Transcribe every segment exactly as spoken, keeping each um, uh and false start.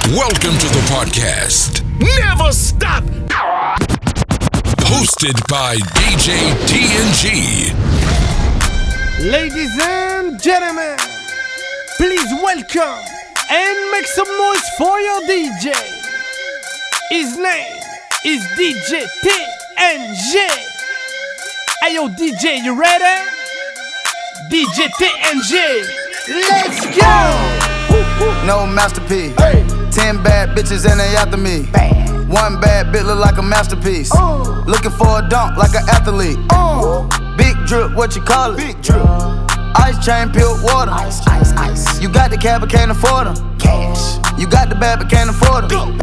Welcome to the podcast. Never stop. Hosted by D J T N G. Ladies and gentlemen, please welcome and make some noise for your D J. His name is D J T N G. Hey yo D J, you ready? D J T N G, let's go! No masterpiece. Hey. Ten bad bitches and they after me. Bad. One bad bitch look like a masterpiece. Uh. Looking for a dunk like an athlete. Uh. Big drip, what you call it? Big drip. Ice chain, pure water. Ice, ice, ice. You got the cab but can't afford them. Cash. You got the bad but can't afford them.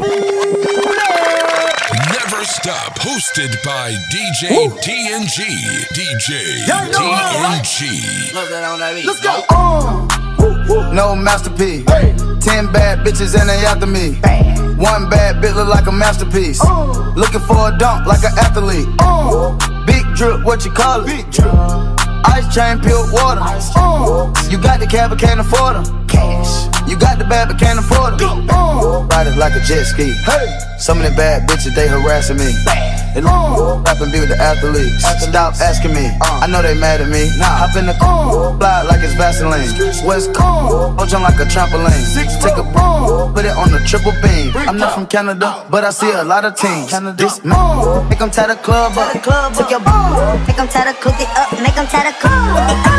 Never Stop, hosted by D J Woo. T N G. D J T N G. Let's go. Uh. No masterpiece. Hey. Ten bad bitches and they after me. Bad. One bad bitch look like a masterpiece. Uh. Looking for a dunk like an athlete. Uh. Big drip, what you call it? Big drip. Ice chain, pure water. Ice chain. Uh. You got the cab but can't afford them. Cash. You got the bad but can't afford them. Uh. Ride it like a jet ski. Hey. Some of the bad bitches they harassing me. Bad. They uh. rap and be with the athletes. athletes. Stop asking me. Uh. I know they mad at me. Nah. Hop in the car, uh. fly like it's Vaseline. West Coast, uh. jump like a trampoline. Six Take a uh. put it on the triple beam. I'm not from Canada, but I see a lot of teams. This man, uh. make them tie the club up. Took your ball, make them tie the cook it up. Make them tie the club.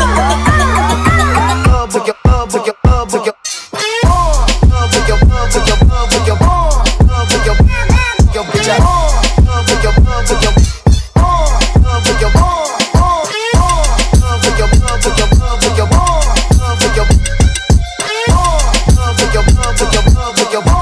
Took your club, took your club, took your took your took your took your took your your bitch out. Took your took your took your took your took your took your took your took your took your took your took your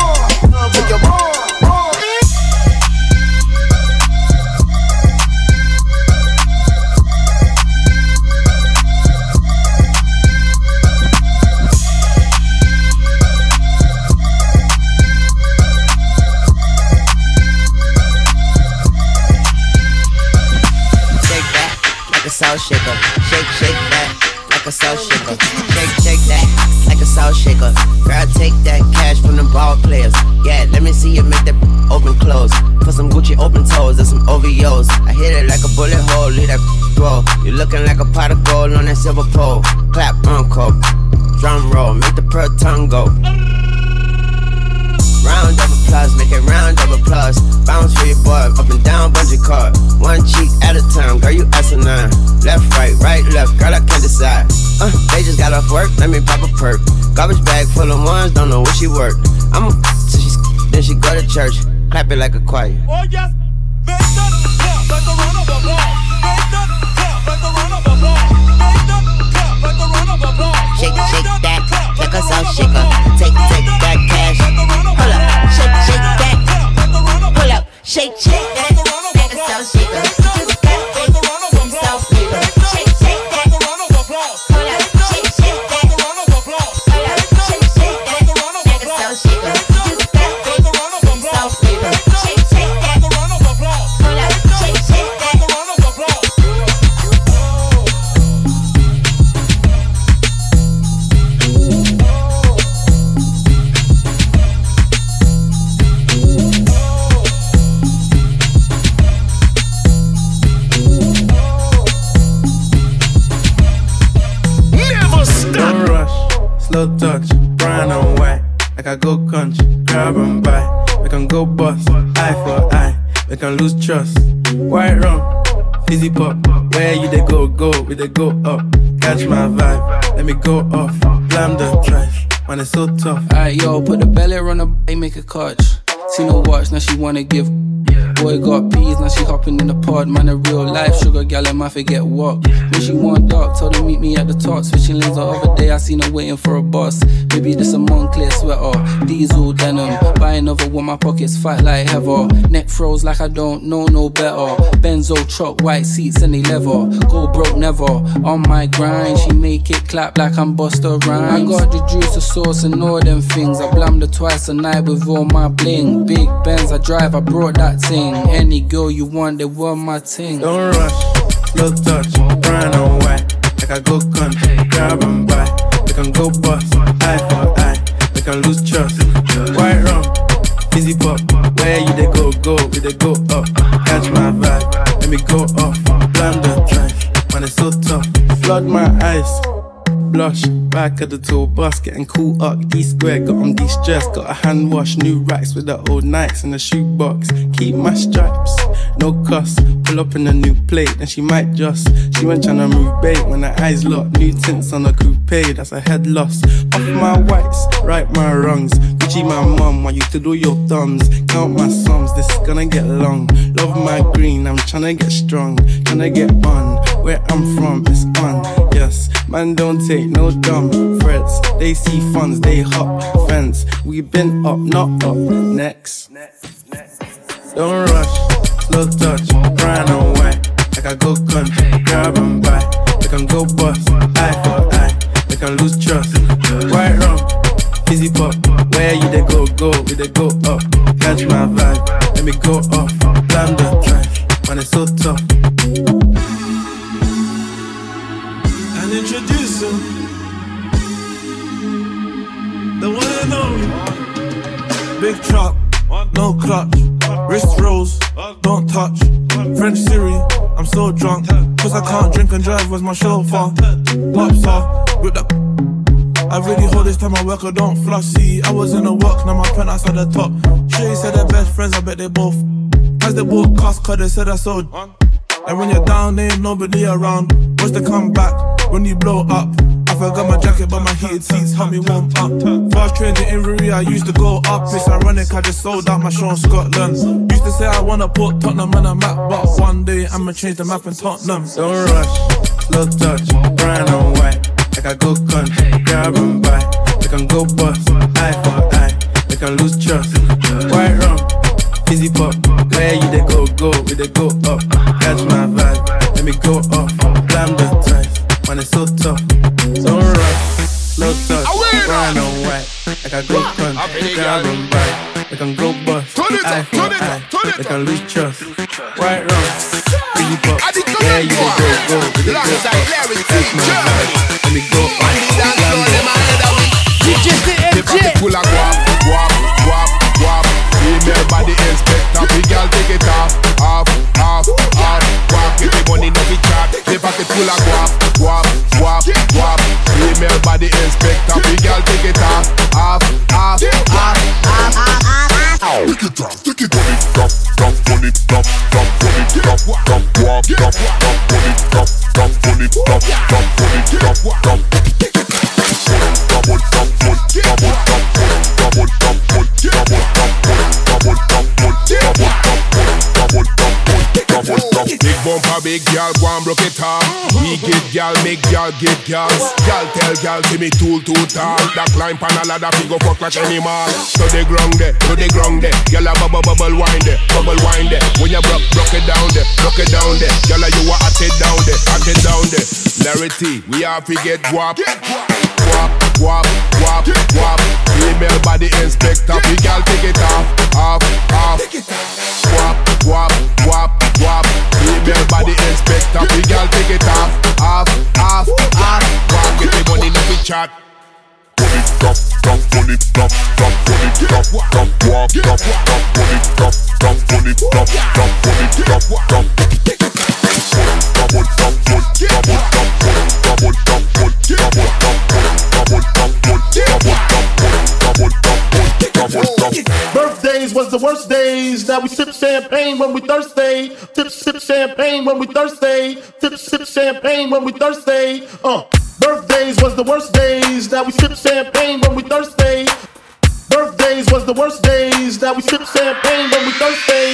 salt shaker, shake, shake that like a salt shaker, shake, shake that like a salt shaker. Girl, take that cash from the ball players. Yeah, let me see you make that open close. Put some Gucci open toes and some O V Os. I hit it like a bullet hole, leave that roll. You looking like a pot of gold on that silver pole. Clap, uncle, drum roll, make the pearl tongue go. Round of applause, make it round of applause. Bounce for your boy, up and down, bungee cord. One cheek at a time, girl, you asinine. Left, right, right, left, girl, I can't decide. Uh, they just got off work, let me pop a perk. Garbage bag full of ones, don't know what she worked. I'm a so she then she go to church, clap it like a choir. Oh yes, make that clap like a run of applause. Make that clap like a run of applause. Make that clap like a run of applause. Shake, shake that, like a salt shaker. Take, take that cash. Pull up, shake, shake that. Pull up, shake, shake that. Like a salt shaker. Just got it, some salt shaker. Shake, shake that. Pull up, shake, shake that. Pull up, shake, shake that. Like a salt shaker. Just got it, some salt shaker. Shake, shake that. Pull up, shake, shake that. Slow touch, brown and white. Like I go country, grab and buy. We can go bust, eye for eye. We can lose trust. White rum, fizzy pop. Where you they go, go, we they go up. Catch my vibe, let me go off. Blam the trash, man it's so tough. Alright yo, put the belly on the b****, make a catch. See no watch, now she wanna give. Boy got peas, now she hopping in the pod. Man a real life sugar gal, I might forget what. When she want dark, told her meet me at the top. Switching lanes the other day, I seen her waiting for a bus. Maybe this a Moncler sweater, diesel denim. Buy another one, my pockets fat like heather. Neck froze like I don't know no better. Benzo truck, white seats and they leather. Go broke never, on my grind. She make it clap like I'm Busta Rhymes. I got the juice, the sauce and all them things. I blammed her twice a night with all my bling. Big Benz I drive, I brought that thing. Any girl you want, they want my thing. Don't rush, no touch, brown and white. Like I go country, grab and buy. We can go bust, eye for eye. We we can lose trust. White rum, fizzy pop, where you they go, go, we they go up. Catch my vibe, let me go off. Blam the drive, man it's so tough. Flood my eyes, blush, back of the tour bus, getting cool up. D-square, got on de-stress, got a hand wash, new racks with the old Nikes in the shoebox. Keep my stripes, no cuss. Pull up in a new plate, and she might just. She went tryna move bait when her eyes locked. New tints on a coupe, that's a head loss. Off my whites, right my wrongs. Gucci my mum, want you to do your thumbs. Count my sums, this is gonna get long. Love my green, I'm tryna get strong. Tryna get on, where I'm from, it's on. Yes, man don't take no dumb threats. They see funds, they hop fence. We been up, not up. Next. Don't rush, slow touch, brown and white. Like I go country, grab and buy. We can go bust, eye for eye. We can lose trust. White rum, fizzy pop. Where you they go, go, we they go up. Catch my vibe, let me go off. Blam the drive, man it's so tough. And introduce him, the one and only. Big truck, no clutch. Wrist rolls, don't touch. French Siri, I'm so drunk. Cause I can't drink and drive, was my chauffeur. Pops off, with the I really hold this time I work, I don't floss. See, I was in the work, now my penthouse at the top. Shay said they're best friends, I bet they both. As they both cost, cause they said I sold. And when you're down, there ain't nobody around. What's the comeback when you blow up? I forgot my jacket, but my heated seats help me warm up. Fast train to Inverie, I used to go up. It's ironic, I just sold out my show in Scotland. Used to say I wanna put Tottenham on a map, but one day I'ma change the map in Tottenham. Don't rush, slow touch, brown and white. Like I go country, grab and buy. We can go bust, eye for eye. We can lose trust. White rum, fizzy pop. Where you they go, go, we they go up. Catch my vibe, let me go off. Blam the drive, man it's so tough. Don't rush, slow touch, brown and white. Like I go country, grab and buy. We can go bust, eye for eye. We can lose trust. White rum, fizzy pop. Where you they go, go, we they go up. Catch my vibe. Let me go on D J T M J. The full of guap, guap, guap, guap. Female body inspector, big girl take it off, off, off, off. Guap, get the money no be chat. The pocket full of guap, guap, guap, guap. Female body inspector, big girl take it off, off, off, off, off, off. Take it off, take it on it, drop, drop, on it, drop, drop, on it, drop, drop, guap, drop, drop, on it, drop, drop, on it, drop, drop, on it, drop, drop. Big bumper, big girl, go and broke it off. We get girl, make girl get girls. Girl tell girl, see me tool too tall. That climb pan a ladder, fi go fuck like animal. To the ground there, to the ground there. Girl a bubble bubble wine there, bubble wine there. When you broke, broke it down there, broke it down there. Girl a you a hot it down there, hot it down there. Larity, we have to get guap. Guap, guap, guap, guap. Female body inspector, big girl take it off, off, off. Guap, guap, guap, guap. Female body inspector, big girl take it off, off, off, off. Guap, get the money, no be chat. Put it drop, drop, put it drop, drop, put it drop, drop, guap, drop, drop, put it drop, drop, put it drop, drop, put it drop, drop. Double, double, double, double, double, double, double, Birthdays was the worst days. Now we sip champagne when we thirsty. Sip, sip champagne when we thirsty. Sip, sip champagne when we thirsty. Uh, birthdays was the worst days. Now we sip champagne when we thirsty. Birthdays was the worst days. Now we sip champagne when we thirsty.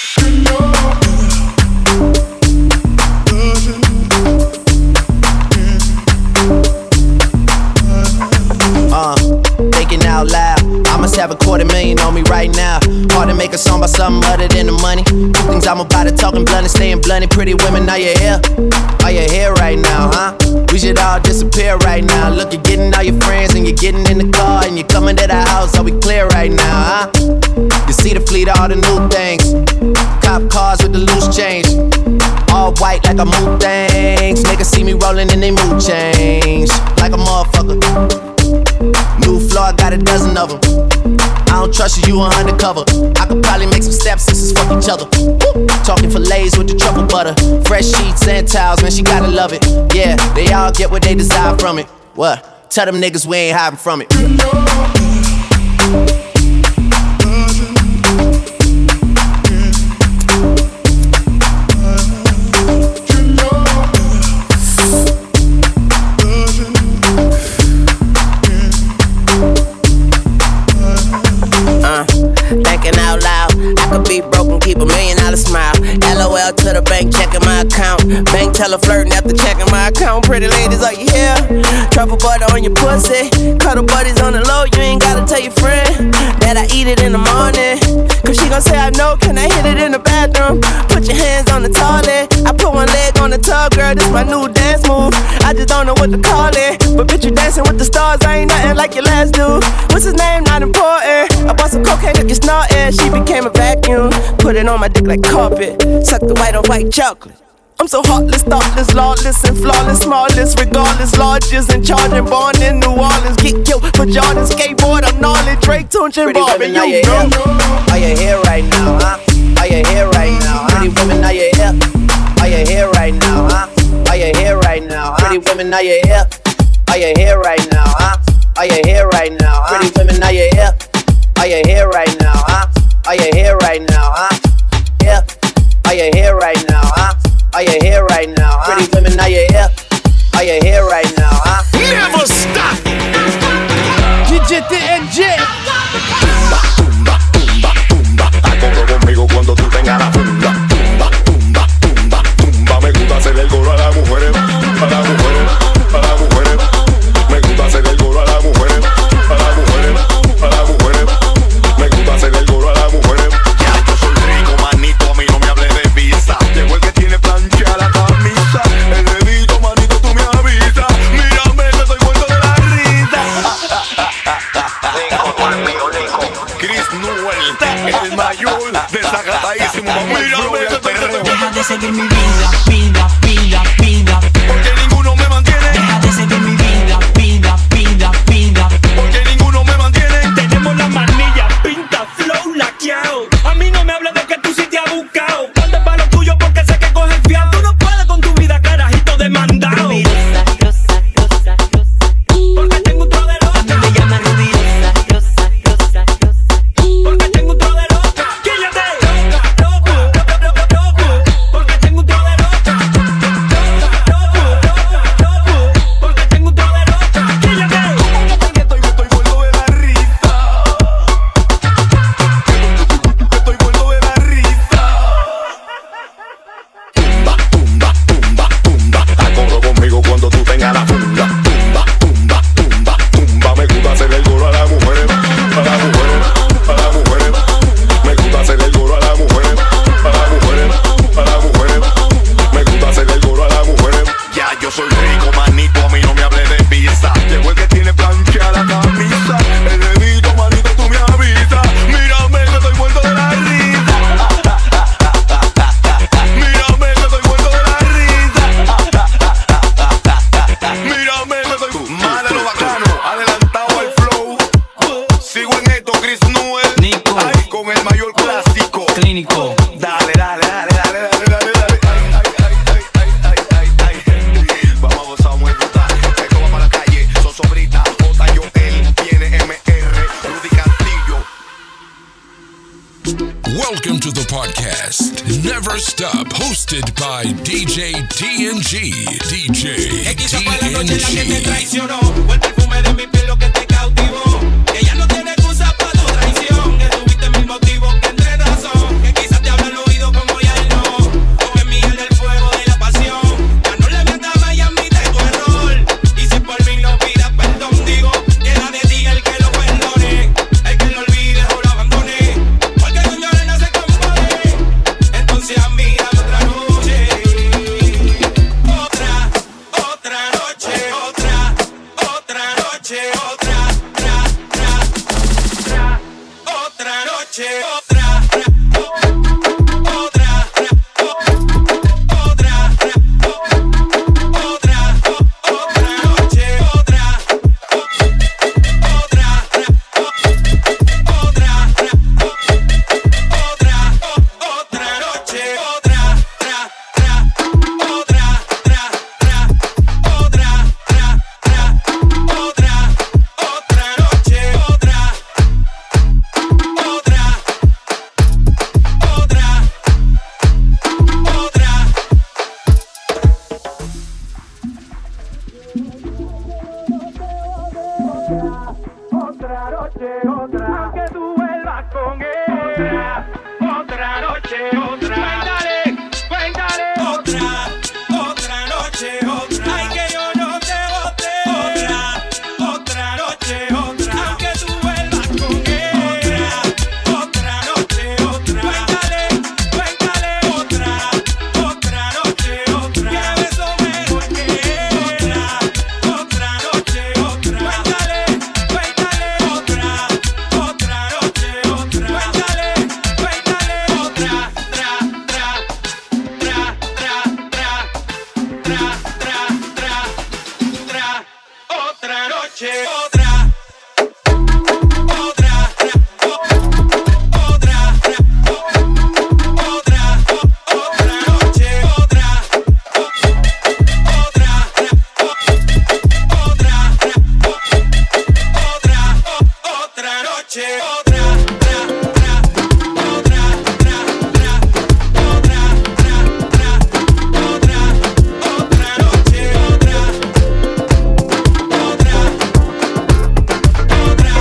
Uh, thinking out loud, I must have a quarter million on me right now. Hard to make a song about something other than the money. Things I'm about to talking blunt and staying blunt. Pretty women, are you here? Are you here right now, huh? We should all disappear right now. Look, you're getting all your friends and you're getting in the car and you're coming to the house. Are we clear right now, huh? You see the fleet of all the new things. Cop cars with the loose change. All white like a mood things. Niggas see me rolling in they mood change. Like a motherfucker. New floor I got a dozen of them. I don't trust you, you are undercover. I could probably make some stepsisters fuck each other. Woo. Talking fillets with the truffle butter. Fresh sheets and towels, man, she gotta love it. Yeah, they all get what they desire from it. What? Tell them niggas we ain't hiding from it. Be broken, keep a million dollar smile. LOL to the bank, checking my account. Bank teller flirting after checking my account. Pretty ladies, are you here? Truffle butter on your pussy. Cuddle buddies on the low, you ain't gotta tell your friend that I eat it in the morning. Cause she gon' say I know, can I hit it in the bathroom? Put your hands on the toilet. I put one leg on the tub, girl, this my new dance move. I just don't know what to call it, but bitch, you dancing with the stars, I ain't nothing like your last dude. What's his name? Not important. I bought some cocaine, if you snorting. She became a vacuum. Put it on my dick like carpet. Suck the white on white chocolate. I'm so heartless, thoughtless, lawless, and flawless, smallest, regardless, largest, and charging, born in New Orleans. Get killed for Jordan, skateboard, I'm gnarly, Drake, Tunechi, Barbie, you know. Are you here right now, huh? Are you here right now, huh? Pretty women, are you here? Are you here right now, huh? Are you here right now, huh? Pretty women, are you here? Are you here right now, huh? Are you here right now, huh? Pretty women, are you here? Are you here right now, huh? Are you here right now, huh? Yeah. Are you here right now, huh? Are you here right now, huh? Pretty women, are you here? Are you here right now, huh? Never stop. D J T N G. Tumba, tumba, tumba, tumba. Acorro conmigo cuando tú tengas la funda. Tumba, tumba, tumba, tumba. Me gusta hacer el coro a las mujeres, a las mujeres, a las mujeres. Me gusta hacer el coro a las mujeres, a las mujeres, a las mujeres. Me gusta hacer el coro a las mujeres. Ya yo soy rico, manito, a mí no me hables de visa. Llegó el que tiene plancha la camisa. El dedito, manito, tú me avisas. Mírame, que soy muerto de la risa. Chris Newell, el mayor, desacatadísimo. Mírame, que soy muerto de la risa. Deja de seguir mi vida, vida, vida, vida. Porque ninguno me mantiene. Deja de seguir mi vida, vida, vida, vida. Porque ninguno me mantiene. Tenemos la manilla, pinta, flow, laqueado. A mí no me habla de que tú sí te has buscado. ¿Dónde va lo tuyo? Porque sé que coges fiado. Tú no puedes con tu vida, carajito demandado. Rubirosa, rosa, rosa, rosa. Porque tengo un tro de loca. A mí me llama Rubirosa, rosa, rosa, rosa. Porque tengo un tro de loca. Quíllate. Loca, loca, loca, loca. Porque tengo un tro de loca. Loca, loca, loca, loca. Porque tengo un tro de loca. Quíllate. Estoy, estoy vuelto de la risa. Estoy vuelto de la risa. Tumba, tumba, tumba, tumba. Acorro conmigo cuando tú tengas la funda. Tumba, tumba, tumba, tumba. Me gusta hacer el coro a las mujeres, a las mujeres, a las mujeres. Me gusta hacer el coro a las mujeres, a las mujeres, a las mujeres. Me gusta hacer el coro a las mujeres. Ya yo soy rico, manito, a mí no me hables de visa. Llegó el que tiene plancha la camisa. El dedito, manito, tú me avisas. Mírame, que estoy muerto de la risa. Mírame, que estoy muerto de la risa. Mírame, que estoy mal de lo bacano, adelantado al flow. Sigo en esto, Chris Newell. Nico. Ay, con el mayor clásico. Clínico. Dale, dale, dale, dale, dale, dale, dale. Ay, ay, ay, ay, ay, ay, ay, ay. Vamos a gozar muy brutal. Esto va para la calle. Sosobrita, J. Joel, viene M R, Rudy Castillo. Welcome to the podcast Never Stop, hosted by D J T N G. D J Quiso para la noche la que te T N G. traicionó. Fue el perfume de mi piel lo que te cautivó. Que ya no tiene excusa para tu traición. Que tuviste mil motivos que entre razón. Que quizás te hablan oído como ya él no. Tú en Miguel del fuego de la pasión. Ya no le mientas más y admite tu error. Y si por mí no pidas perdón, digo, queda de ti el que lo perdone. El que lo olvide o lo abandone. Porque con llorar no se compone. Entonces mira otra noche. Otra, otra noche, otra, otra noche, otra, tra, tra, tra, otra noche, otra, tra, otra, tra, otra, tra, otra, otra noche, otra, otra, tra, noche, otra, tra, tra, otra, tra, tra, otra, tra, tra, otra, otra noche, otra, otra, otra, otra.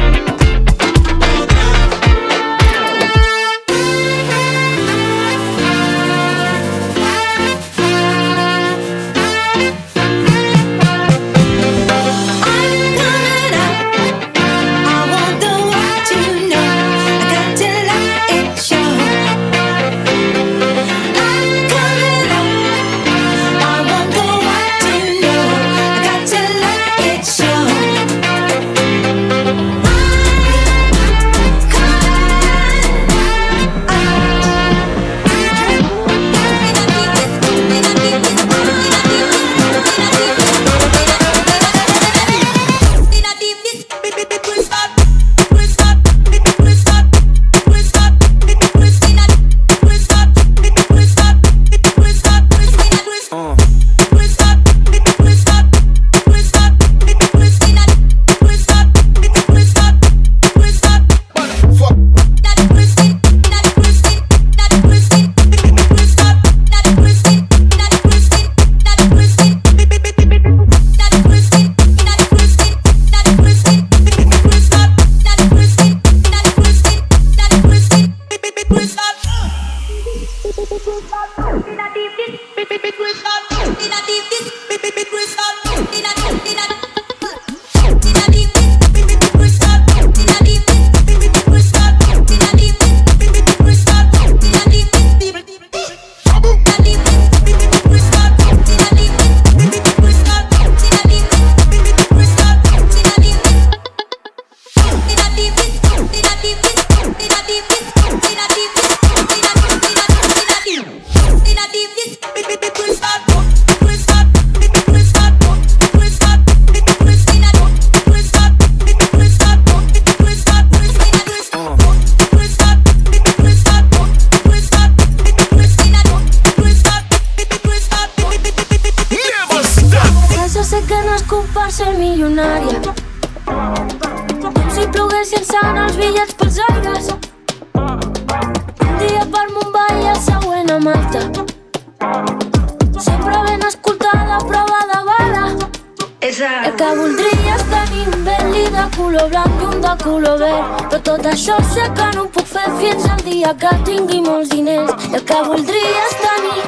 Que tingui molts diners i el que voldria és tenir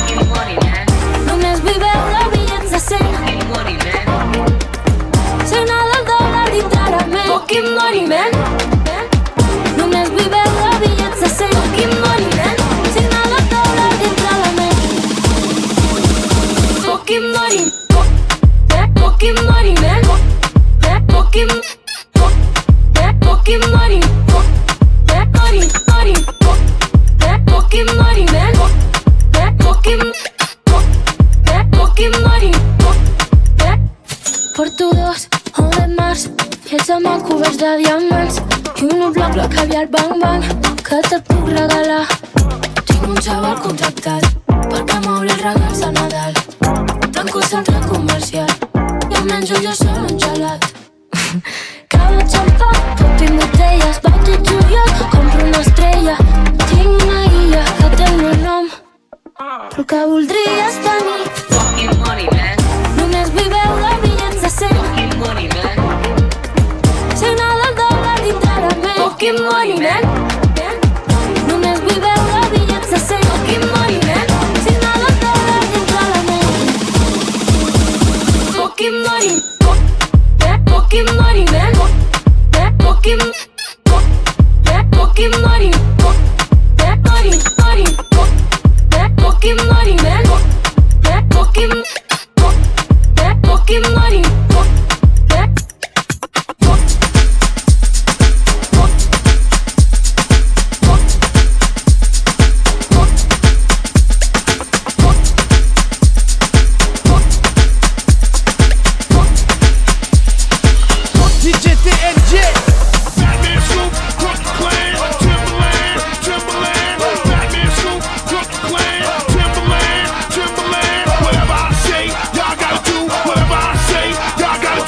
només vull veure bitllets de cent signar del dòlar dintre la ment fucking money man només vull veure bitllets de cent fucking money man signar del dòlar dintre la ment fucking money fucking money man fucking fucking money money money fucking money, man. Fucking, fucking money. Porto dos o de març, fets amb el coberts de diamants i un bloc bloc caviar bang bang que te'l puc regalar. Tinc un xaval contractat perquè m'obri els regals de Nadal. Tanco el centre comercial i em menjo jo sol un gelat. Cada xampà, tot i botelles, vaig a juliol, compro una estrella. Tinc una guia que té el meu nom, però que voldria és tenir fucking money, man. Només vull veure bitllets de cent fucking money, man. Signar del dòlar dintre la ment fucking money, man. Només vull veure bitllets de cent fucking money, man. Signar del dòlar dintre la ment fucking money. Fucking money, man. Fucking, fucking money. Money, money. Fucking money, man. Fucking, fucking money. Timberland, whatever I say, y'all gotta do whatever I say, y'all gotta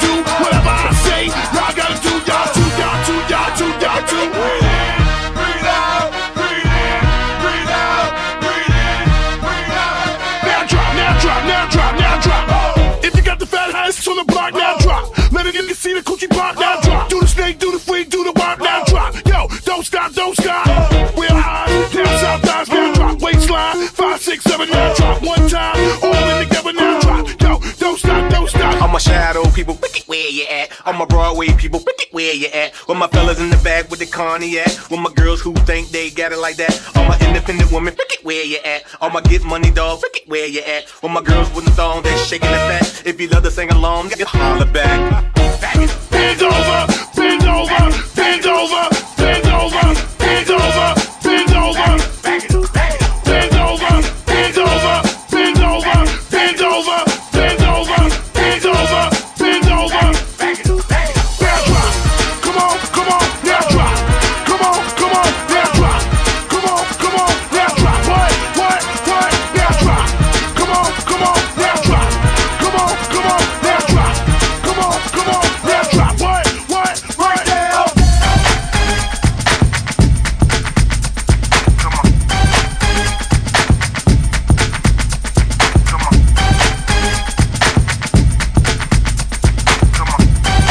don't stop, don't stop. We're high, down south, thighs, now drop, waistline. Five, six, seven, now drop, one time. All in together, now drop. Yo, don't stop, don't stop. All my shadow people, wicked, where you at? All my Broadway people, wicked, where you at? With my fellas in the back with the Connie at? With my girls who think they got it like that? All my independent women, wicked, where you at? All my get money dogs, wicked, where you at? With my girls with the thong, they shaking the fat. If you love to sing along, you holler back. Bend over, bend over, bend over, bend over, bend over, bend over, bend over, bend over, bend over, bend over, bend over, bend over, bend over, bend over. Now drop, come on, come on, now drop, come on, come on, now drop, come on, come on, now drop. What, what, what? Now drop, come on, come on, now drop, come on, come on, now drop, come on, come on, now drop. What, what, right now? Come on. Come on. Come on.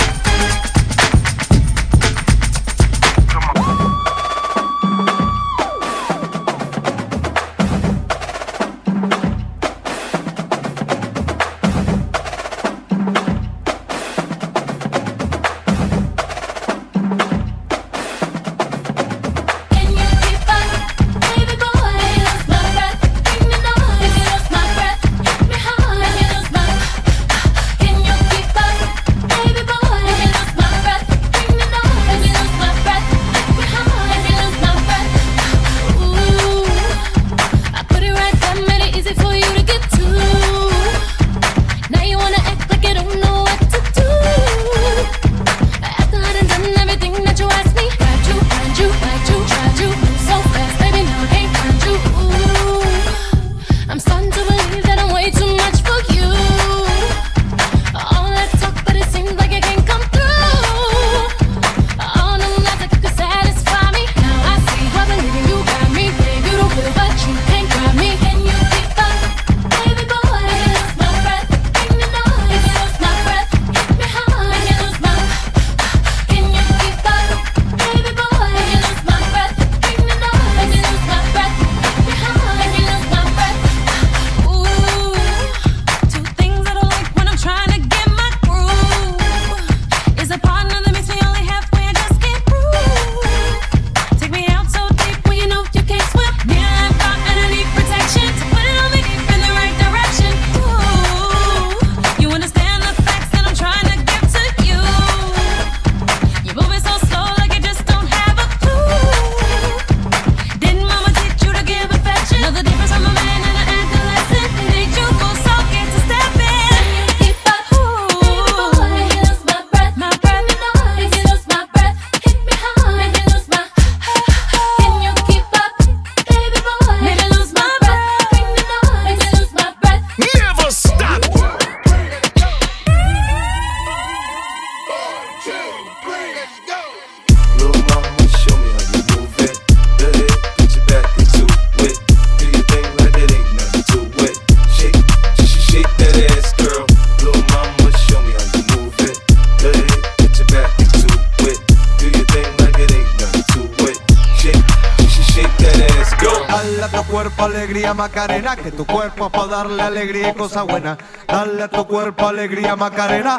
Alegría Macarena, que tu cuerpo es para darle alegría y cosa buena. Dale a tu cuerpo alegría Macarena,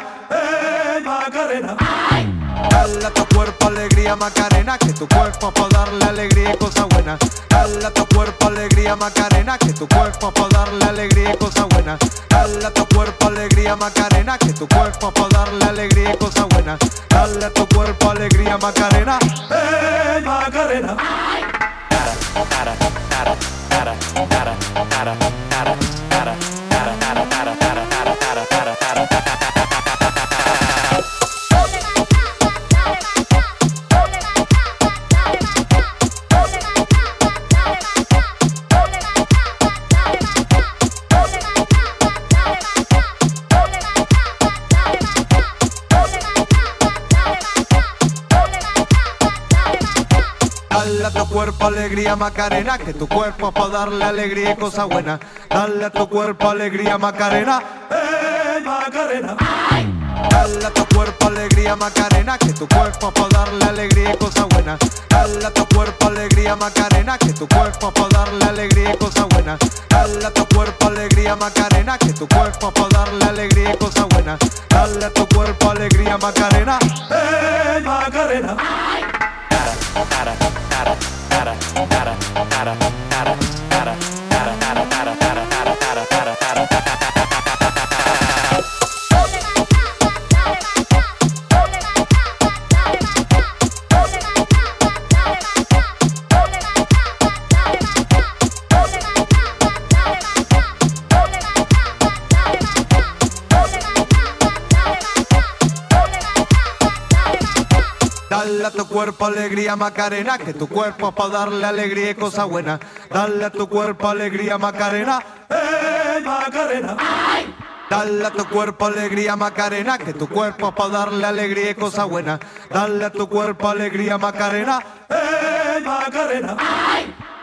eh Macarena. Dale a tu cuerpo alegría Macarena, que tu cuerpo es para darle alegría y cosa buena. Dale a tu cuerpo alegría Macarena, que tu cuerpo es para darle alegría y cosa buena. Dale a tu cuerpo alegría Macarena, que tu cuerpo es para darle alegría y cosa buena. Dale a tu cuerpo alegría Macarena, eh Macarena. Dale a tu cuerpo alegría Macarena, que tu cuerpo es para darle alegría y cosa buena. Dale a tu cuerpo alegría Macarena, eh Macarena. Dale a tu cuerpo alegría Macarena, que tu cuerpo es para darle alegría y cosa buena. Dale a tu Dale a tu cuerpo alegría Macarena, que tu cuerpo es para darle alegría y cosas buenas. Dale a tu cuerpo alegría Macarena, eh Macarena. Ay. Dale a tu cuerpo alegría Macarena, que tu cuerpo es para darle alegría y cosas buenas. Dale a tu cuerpo alegría Macarena, eh Macarena. Ay.